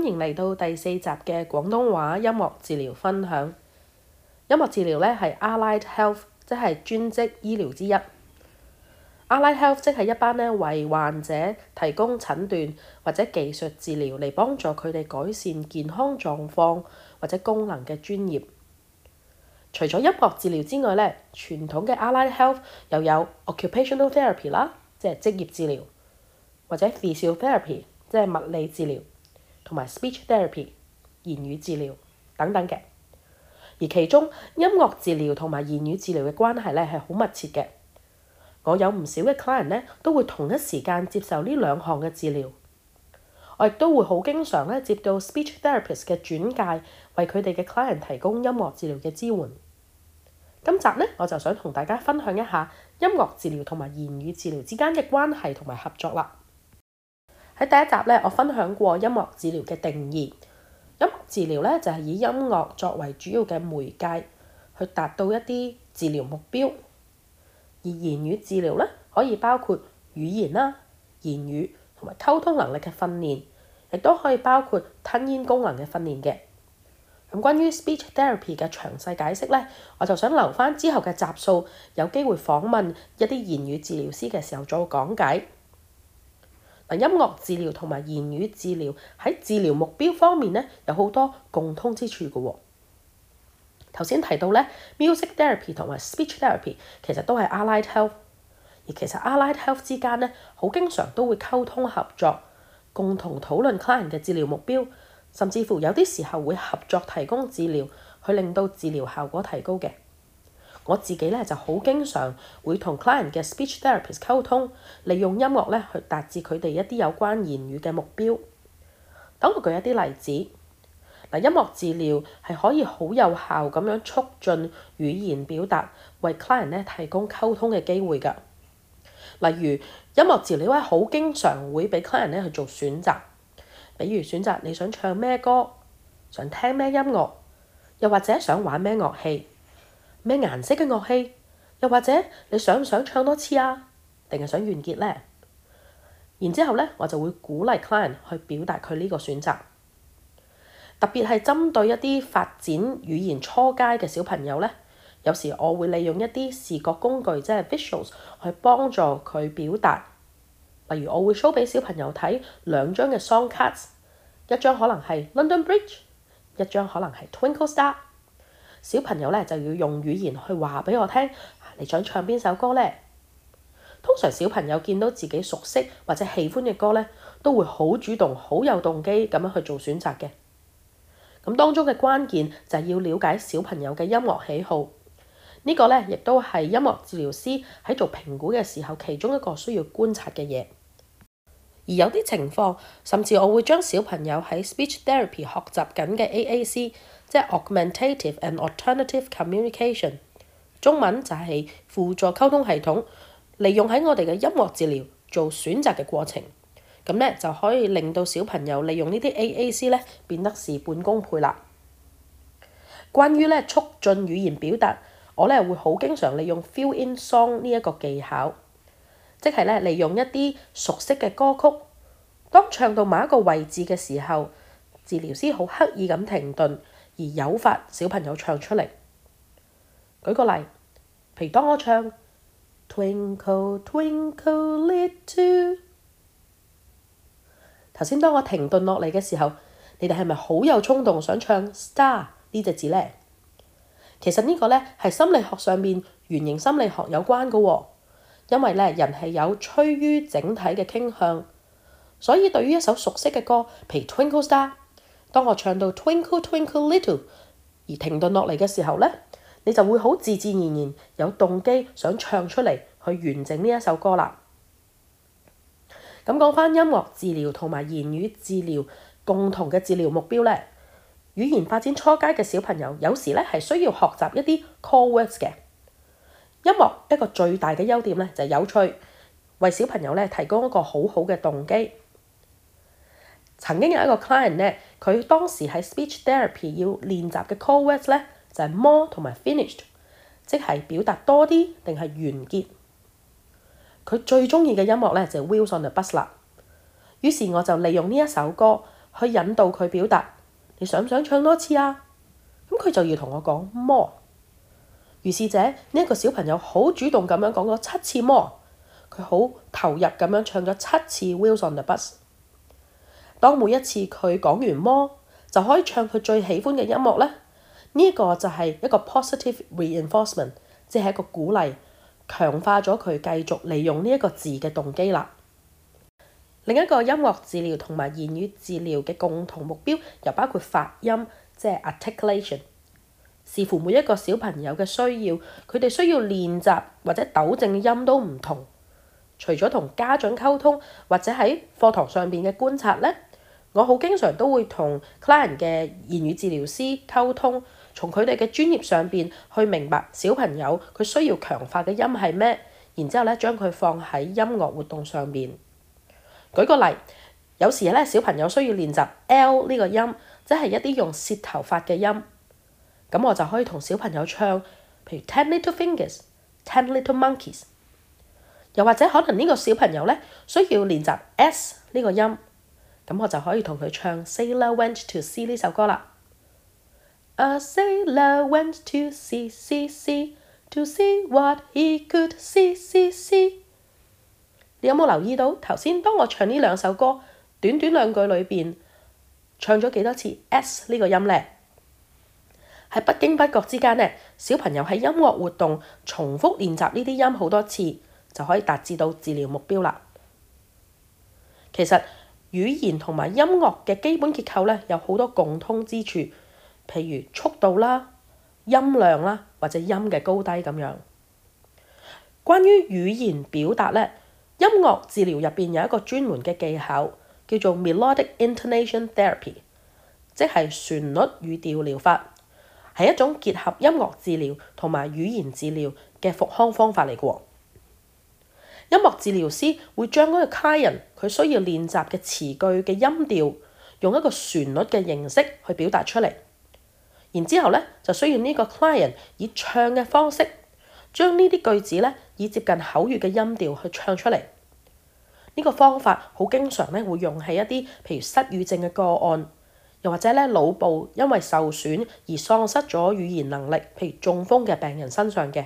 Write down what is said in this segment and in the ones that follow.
迎嚟到第4集嘅廣東話音樂治療分享。音樂治療咧係 Allied Health， 即係專職醫療之一。Allied Health 即係一班咧為患者提供診斷或者技術治療嚟幫助佢哋改善健康狀況或者功能嘅專業。除咗音樂治療之外咧，傳統嘅 Allied Health 又有 Occupational Therapy 啦，即係職業治療，或者 Physiotherapy， 即係物理治療，同埋 Speech Therapy， 言語治療等等嘅。而其中音樂治療同埋言語治療嘅關係咧係好密切嘅。我有唔少嘅 client 咧都會同一時間接受呢兩項嘅治療。我亦都會好經常咧接到 speech therapist 嘅轉介，為佢哋嘅 client 提供音樂治療嘅支援。今集咧我就想同大家分享一下音樂治療同埋言語治療之間嘅關係同埋合作啦。喺第一集咧，我分享過音樂治療嘅定義。音樂治療咧就係以音樂作為主要嘅媒介，去達到一啲治療目標。而言語治療咧可以包括語言啦、言語同埋溝通能力嘅訓練，亦都可以包括吞咽功能嘅訓練嘅。咁關於 speech therapy 嘅詳細解釋咧，我就想留翻之後嘅集數，有機會訪問一啲言語治療師嘅時候再講解。音樂治療同埋言語治療喺治療目標方面咧有好多共通之處嘅喎。頭先提到咧 music therapy 同埋 speech therapy 其實都係 Allied Health， 而其實 Allied Health 之間咧好經常都會溝通合作，共同討論 client 嘅治療目標，甚至乎有啲時候會合作提供治療，去令到治療效果提高嘅。我自己咧就好經常會同 client 嘅 speech therapist 溝通，利用音樂咧去達至佢哋一啲有關言語嘅目標。等我舉一啲例子。音樂治療係可以好有效咁樣促進語言表達，為 client 咧提供溝通嘅機會㗎。例如音樂治療咧好經常會俾 client 咧去做選擇，比如選擇你想唱咩歌，想聽咩音樂，又或者想玩咩樂器，咩顏色嘅樂器，又或者你想唔想唱多次啊？定係想完結呢？然之後咧，我就會鼓勵 client 去表達佢呢個選擇。特別係針對一啲發展語言初階嘅小朋友咧，有時我會利用一啲視覺工具，即係 visuals 去幫助佢表達。例如我會 show 俾小朋友睇2張嘅 song cards， 一張可能係 London Bridge， 一張可能係 Twinkle Star。小朋友咧就要用語言去話俾我聽，你想唱邊首歌咧？通常小朋友見到自己熟悉或者喜歡嘅歌咧，都會好主動、好有動機咁樣去做選擇嘅。咁當中嘅關鍵就係要了解小朋友嘅音樂喜好，呢個咧亦都係音樂治療師喺做評估嘅時候其中一個需要觀察嘅嘢。而有啲情況，甚至我會將小朋友喺 speech therapy 學習緊嘅 AAC， 即係 Augmentative and Alternative Communication， 中文就係輔助溝通系統，利用喺我哋嘅音樂治療做選擇嘅過程。咁咧就可以令到小朋友利用呢啲 AAC 咧變得事半功倍啦。關於咧促進語言表達，我咧會好經常利用 fill in song 呢一個技巧，即係咧利用一啲熟悉嘅歌曲，當唱到某一個位置嘅時候，治療師好刻意咁停頓，而誘發小朋友唱出嚟。舉個例，譬如當我唱 Twinkle Twinkle Little，頭先當我停頓落嚟嘅時候，你哋係咪好有衝動想唱 star 呢隻字呢？其實呢個咧係心理學上面原型心理學有關嘅喎，因為咧人係有趨於整體嘅傾向，所以對於一首熟悉嘅歌，譬如 Twinkle Star， 當我唱到 Twinkle Twinkle Little 而停頓落嚟嘅時候咧，你就會好自自然然有動機想唱出嚟去完整呢一首歌啦。咁講返音樂治療同埋言語治療共同嘅治療目標咧，語言發展初階嘅小朋友有時咧係需要學習一啲 core words 嘅。音樂一個最大嘅優點咧就係有趣，為小朋友咧提供一個好好嘅動機。曾經有一個 client 咧，佢當時喺 speech therapy 要練習嘅 core words 咧就係 more 同埋 finished， 即係表達多啲定係完結。佢最中意嘅音樂咧就係 Wheels on the Bus 啦。於是我就利用呢一首歌去引導佢表達。你想唔想唱多次啊？咁佢就要同我講 more。於是者呢一個小朋友好主動咁樣講咗7次 more， 佢好投入咁樣唱咗7次 Wheels on the Bus。當每一次佢講完 more 就可以唱佢最喜歡嘅音樂咧，呢個就係一個 positive reinforcement， 即係一個鼓勵，強化咗佢繼續利用呢一個字嘅動機啦。另一個音樂治療同埋言語治療嘅共同目標，又包括發音，即係 articulation。視乎每一個小朋友嘅需要，佢哋需要練習或者糾正嘅音都唔同。除咗同家長溝通或者喺課堂上邊嘅觀察咧，我好經常都會同 client 嘅言語治療師溝通，從佢哋嘅專業上邊去明白小朋友佢需要強化嘅音係咩，然之後咧將佢放喺音樂活動上邊。舉個例，有時咧小朋友需要練習 L 呢個音，即係一啲用舌頭發嘅音。咁我就可以同小朋友唱，譬如 Ten Little Fingers、Ten Little Monkeys。又或者可能呢個小朋友咧需要練習 S 呢個音，咁我就可以同佢唱 Sailor Went to Sea 呢首歌啦。A sailor went to sea, sea, sea, to see what he could see, see, see。你有冇留意到頭先當我唱呢兩首歌，短短2句裏邊唱咗幾多次 S 呢個音咧？喺不經不覺之間咧，小朋友喺音樂活動重複練習呢啲音好多次，就可以達至到治療目標啦。其實語言同埋音樂嘅基本結構咧有好多共通之處，譬如速度啦、音量啦，或者音嘅高低咁樣。關於語言表達咧，音樂治療入邊有一個專門嘅技巧，叫做 Melodic Intonation Therapy， 即係旋律語調療法，係一種結合音樂治療同埋語言治療嘅復康方法嚟嘅喎。音樂治療師會將嗰個 client 佢需要練習嘅詞句嘅音調，用一個旋律嘅形式去表達出嚟。然之後咧，就需要呢個 client 以唱嘅方式，將呢啲句子咧以接近口語嘅音調去唱出嚟。呢個方法好經常咧會用喺一啲譬如失語症嘅個案，又或者咧腦部因為受損而喪失咗語言能力，譬如中風嘅病人身上嘅。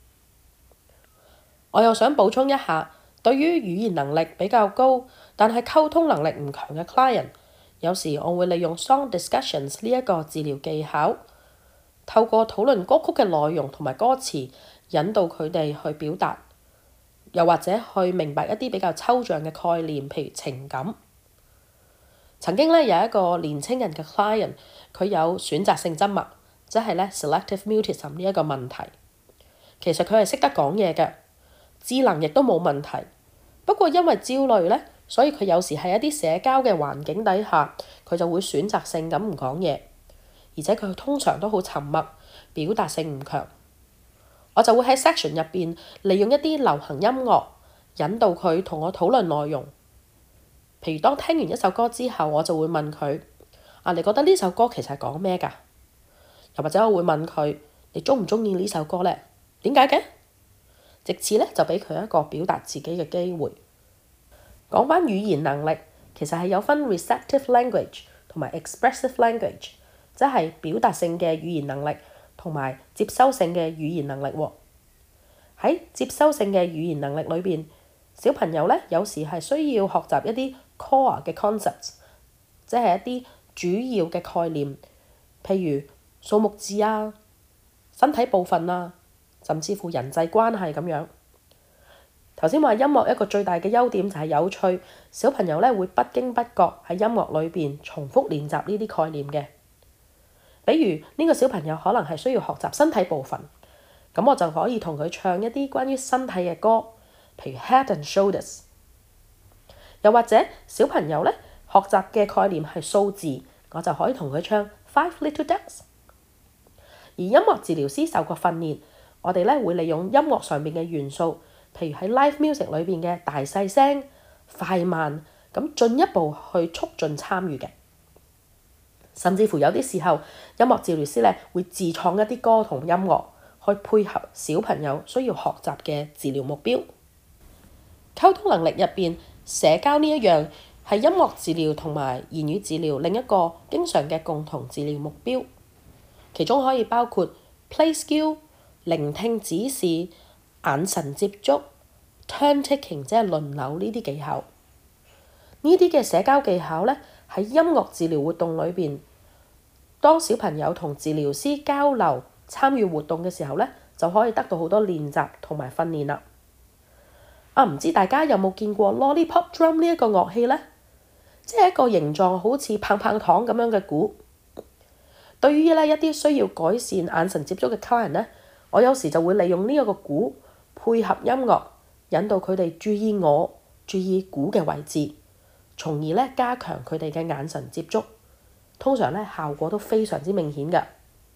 我又想補充一下，對於語言能力比較高，但係溝通能力唔強嘅 client， 有時我會利用 song discussions 呢一個治療技巧，透過討論歌曲嘅內容同埋歌詞，引導佢哋去表達，又或者去明白一啲比較抽象嘅概念，譬如情感。曾經咧有一個年青人嘅 client， 佢有選擇性緘默，即係咧 selective mutism 呢一個問題。其實佢係識得講嘢嘅，智能亦都冇問題。不過因為焦慮咧，所以佢有時喺一啲社交嘅環境底下，佢就會選擇性咁唔講嘢，而且佢通常都好沉默，表達性唔強。我就會喺 section 入邊利用一啲流行音樂，引導佢同我討論內容。譬如當聽完一首歌之後，我就會問佢：你覺得呢首歌其實係講咩㗎？又或者我會問佢：你鍾唔鍾意呢首歌咧？點解嘅？藉此咧就俾佢一個表達自己嘅機會。講返語言能力，其實係有分 receptive language 同埋 expressive language， 即係表達性嘅語言能力同埋接收性嘅語言能力喎。喺接收性嘅語言能力裏邊，小朋友咧有時係需要學習一啲 core 嘅 concepts， 即係一啲主要嘅概念，譬如數目字啊、身體部分啊，甚至乎人際關係咁樣。頭先話音樂一個最大嘅優點就係有趣，小朋友咧會不經不覺喺音樂裏邊重複練習呢啲概念嘅。比如呢個小朋友可能係需要學習身體部分，咁我就可以同佢唱一啲關於身體嘅歌，譬如 Head and Shoulders。又或者小朋友咧學習嘅概念係數字，我就可以同佢唱 Five Little Ducks。而音樂治療師受過訓練，我哋咧會利用音樂上面嘅元素，譬如喺 live music 裏邊嘅大細聲、快慢，咁進一步去促進參與嘅。甚至乎有啲時候，音樂治療師咧會自創一啲歌同音樂，去配合小朋友需要學習嘅治療目標。溝通能力入邊，社交呢一樣係音樂治療同埋言語治療另一個經常嘅共同治療目標，其中可以包括 play skill、聆聽指示、眼神接觸、turn taking 即係輪流呢啲技巧。呢啲嘅社交技巧呢，喺音樂治療活動裏邊，當小朋友同治療師交流、參與活動嘅時候呢，就可以得到好多練習同埋訓練啦。唔知大家有冇見過 lollipop drum 呢一個樂器呢？即係一個形狀好似棒棒糖咁樣嘅鼓。對於呢一啲需要改善眼神接觸嘅 client 呢，我有時就會利用呢一個鼓配合音樂，引導佢哋注意鼓嘅位置，從而呢加強佢哋嘅眼神接觸。通常呢效果都非常之明顯嘅。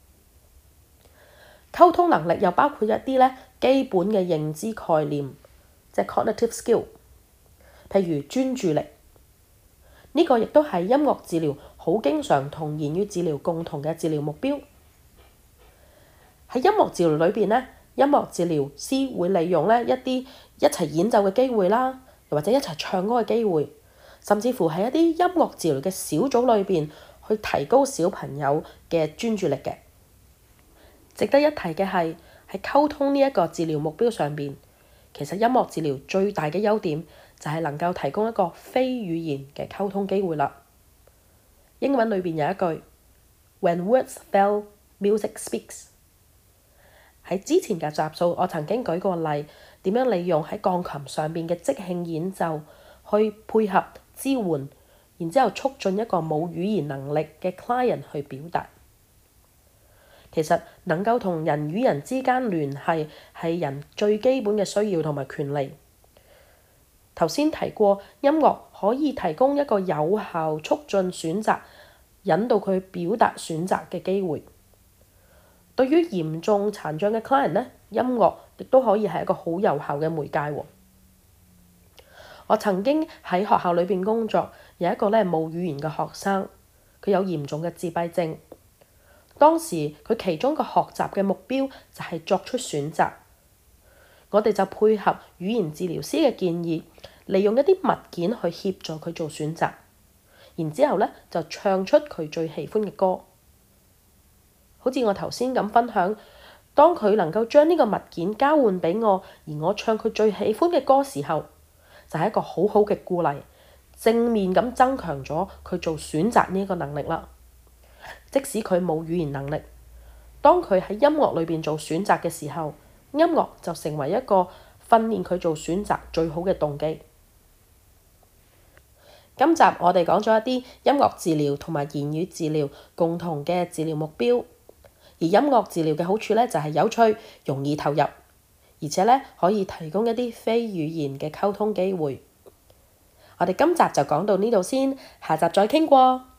溝通能力又包括一啲呢基本嘅認知概念，即係 cognitive skill， 譬如專注力。呢個亦都係音樂治療好經常同言語治療共同嘅治療目標。喺音樂治療裏邊呢，音樂治療師會利用呢一啲一齊演奏嘅機會啦，又或者一齊唱歌嘅機會，甚至乎喺一啲音樂治療嘅小組裏邊去提高小朋友嘅專注力嘅。值得一提嘅係喺溝通呢一個治療目標上邊，其實音樂治療最大嘅優點就係能夠提供一個非語言嘅溝通機會啦。英文裏邊有一句 When words fail, music speaks。喺之前嘅集數，我曾經舉過例，點樣利用喺鋼琴上邊嘅即興演奏去配合支援，然之後促進一個冇語言能力嘅 client 去表達。其實能夠同人與人之間聯繫係人最基本嘅需要同埋權利。頭先提過，音樂可以提供一個有效促進選擇、引導佢表達選擇嘅機會。對於嚴重殘障嘅 client 呢，音樂亦都可以係一個好有效嘅媒介喎。我曾經喺學校裏邊工作，有一個呢冇語言嘅學生，佢有嚴重嘅自閉症。當時佢其中一個學習嘅目標就係作出選擇。我哋就配合語言治療師嘅建議，利用一啲物件去協助佢做選擇，然之後呢，就唱出佢最喜歡嘅歌。好似我頭先咁分享，當佢能夠將呢個物件交換俾我，而我唱佢最喜歡嘅歌時候，就係一個好好嘅鼓勵，正面咁增強咗佢做選擇呢個能力啦。即使佢冇語言能力，當佢喺音樂裏邊做選擇嘅時候，音樂就成為一個訓練佢做選擇最好嘅動機。今集我哋講咗一啲音樂治療同埋言語治療共同嘅治療目標，而音樂治療嘅好處呢，就係有趣、容易投入，而且呢可以提供一啲非語言嘅溝通機會。我哋今集就講到呢度先，下集再傾過。